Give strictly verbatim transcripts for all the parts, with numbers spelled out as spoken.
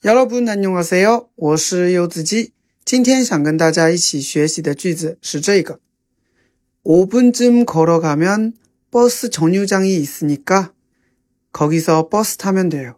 여러분 안녕하세요，我是柚子鸡。今天想跟大家一起学习的句子是这个。오 분쯤 걸어가면 버스 정류장이 있으니까 거기서 버스 타면 돼요.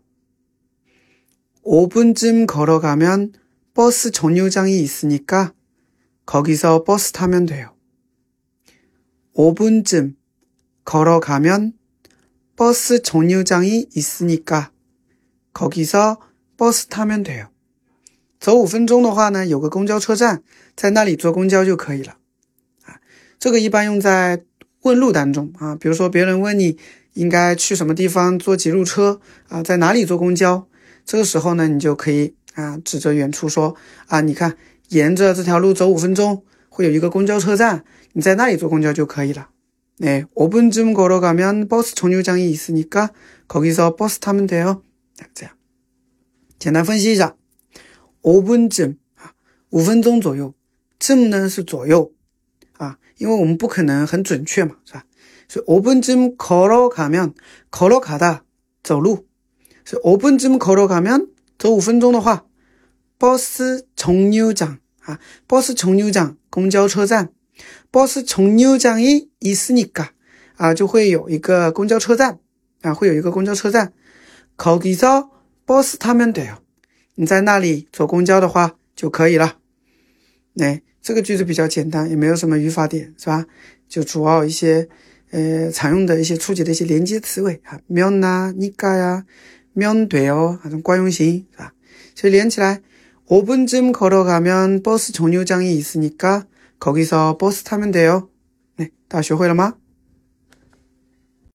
오 분쯤 걸어가면 버스 정류장이 있으니까 거기서 버스 타면 돼요. 오 분쯤 걸어가면 버스 정류장이 있으니까 거기서 버스 타면 돼요. 走五分钟的话呢，有个公交车站，在那里坐公交就可以了。啊，这个一般用在问路当中啊，比如说别人问你应该去什么地方坐几路车啊，在哪里坐公交，这个时候呢，你就可以啊指着远处说啊，你看沿着这条路走五分钟，会有一个公交车站，你在那里坐公交就可以了。네, 오 분쯤 걸어가면 버스 정류장이 있으니까 거기서 버스 타면 돼요. 这样简单分析一下，오 분쯤五分钟左右，쯤呢是左右啊，因为我们不可能很准确嘛，是吧？所以오 분쯤 걸어가면 걸어가다走路，所以오 분쯤 걸어가면走五分钟的话，버스 정류장啊，버스 정류장公交车站，버스 정류장이 있으니까啊，就会有一个公交车站啊，会有一个公交车站，거기서 버스 타면 돼요。你在那里坐公交的话就可以了。哎，这个句子比较简单，也没有什么语法点，是吧？就主要一些呃常用的一些初级的一些连接词尾啊，면啊、니까呀、면 돼요这种惯用型，是吧？所以连起来오 분쯤 걸어가면 버스 정류장이 있으니까 거기서 버스 타면 돼요。 哎，大家学会了吗？